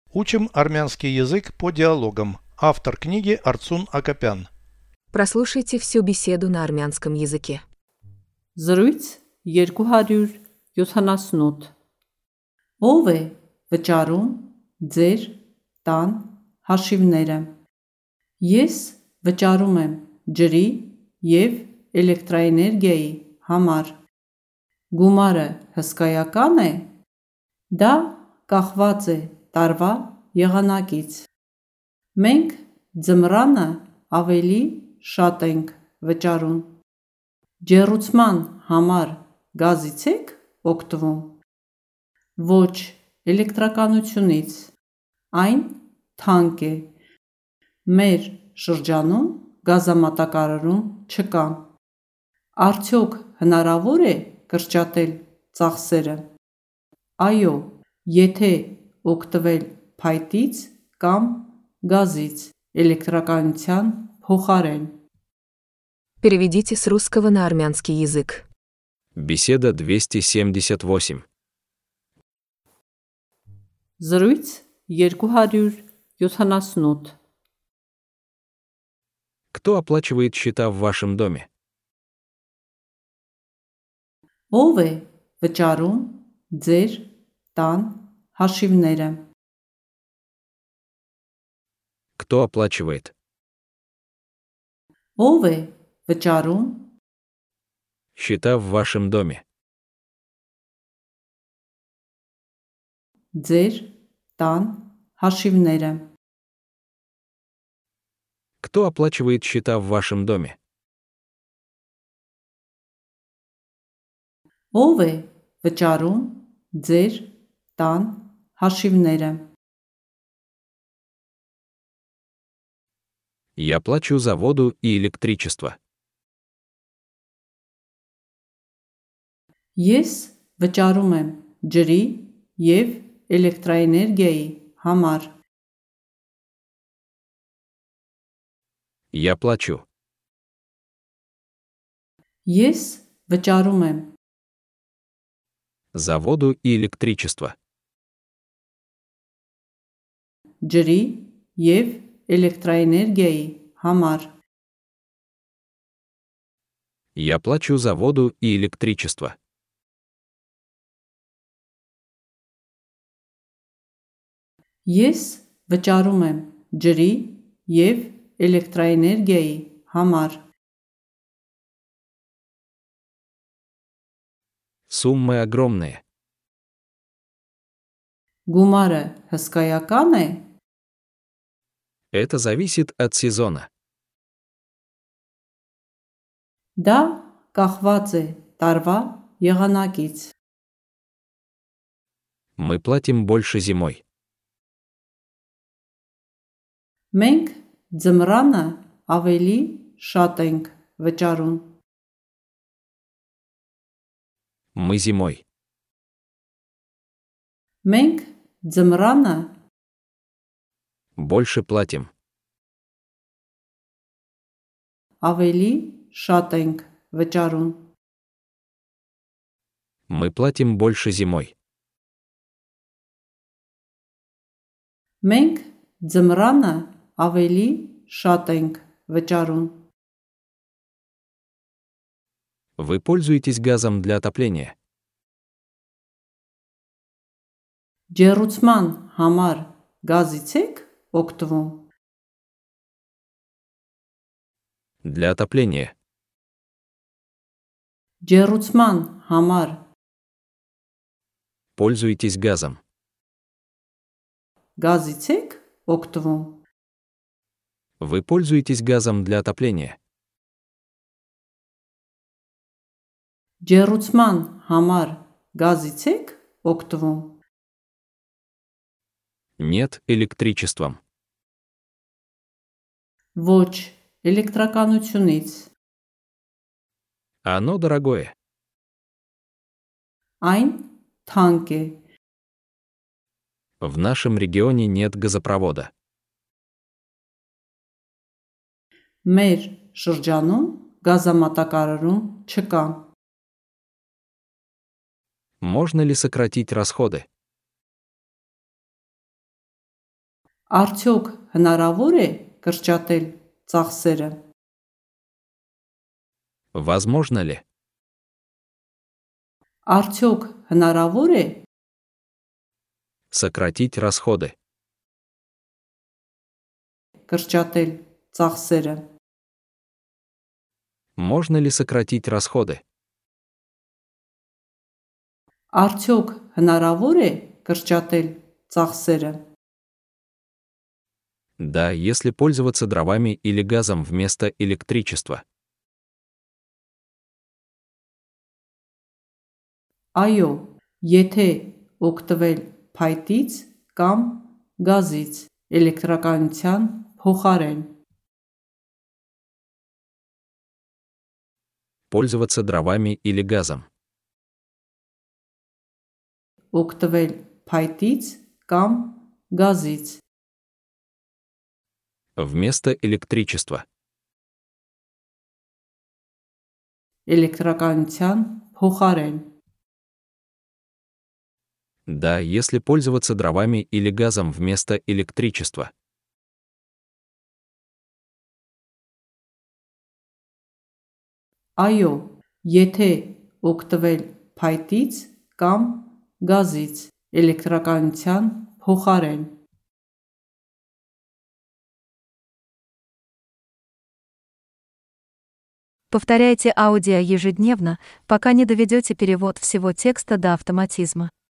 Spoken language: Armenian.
Учим армянский язык по диалогам. Автор книги Арцун Акопян. Прослушайте всю беседу на армянском языке. Զրույց 278 Ո՞վ է վճարում ձեր տան հաշիվները։ Ես վճարում եմ ջրի և էլեկտրաէներգիայի համար։ Գումարը հսկայական է։ Դա կախված է տարվա եղանակից։ Մենք ձմռանը ավելի շատ ենք վճարում։ Ջեռուցման համար գազից եք օգտվում։ Ոչ, էլեկտրականությունից։ Այն թանկ է։ Մեր շրջանում գազամատակարարում չկա։ Արդյոք հնարավոր է կրճատել ծախսերը։ Այո, եթե օգտվել փայտից կամ գազից էլեկտրականության փոխարեն։ Переведите с русского на армянский язык. Беседа 278. Զրույց 278 Кто оплачивает счета в вашем доме? Ո՞վ է վճարում ձեր տան հաշիվները։ Кто оплачивает? Ո՞վ է վճարում Счета в вашем доме. ձեր տան հաշիվները։ Кто оплачивает счета в вашем доме? Ո՞վ է վճարում ձեր տան հաշիվները։ Я плачу за воду и электричество. Ես վճարում եմ ջրի և էլեկտրաէներգիայի համար։ Я плачу. Ես վճարում եմ За воду и электричество. ջրի և էլեկտրաէներգիայի համար։ Я плачу за воду и электричество. Ես վճարում եմ ջրի և էլեկտրաէներգիայի համար։ Суммы огромные. Գումարը հսկայական է։ Это зависит от сезона. Դա կախված է տարվա եղանակից։ Мы платим больше зимой. Մենք ձմռանը ավելի շատ ենք վճարում։ Мы зимой. Մենք ձմռանը Больше платим. ավելի շատ ենք վճարում։ Мы платим больше зимой. Մենք ձմռանը ավելի շատ ենք վճարում։ Вы пользуетесь газом для отопления? Ջեռուցման համար գազից եք օգտվում։ Для отопления. Ջեռուցման համար Пользуетесь газом. գազից եք օգտվում։ Вы пользуетесь газом для отопления? Ջեռուցման համար գազից եք օգտվում։ Нет, электричеством. Ոչ, էլեկտրականությունից։ Оно дорогое. Այն թանկ է։ В нашем регионе нет газопровода. Մեր շրջանում գազամատակարարում չկա։ Можно ли сократить расходы? Արդյոք հնարավոր է կրճատել ծախսերը։ Возможно ли? Արդյոք հնարավոր է Сократить расходы. կրճատել ծախսերը։ Можно ли сократить расходы? Արդյոք հնարավոր է կրճատել ծախսերը։ Да, если пользоваться дровами или газом вместо электричества. Այո, եթե օգտվել փայտից կամ գազից էլեկտրականության փոխարեն։ Пользоваться дровами или газом. Օգտվել փայտից կամ գազից Вместо электричества. էլեկտրականության փոխարեն։ Да, если пользоваться дровами или газом вместо электричества. Այո, եթե օգտվել փայտից կամ գազից էլեկտրականության փոխարեն։ Повторяйте аудио ежедневно, пока не доведете перевод всего текста до автоматизма.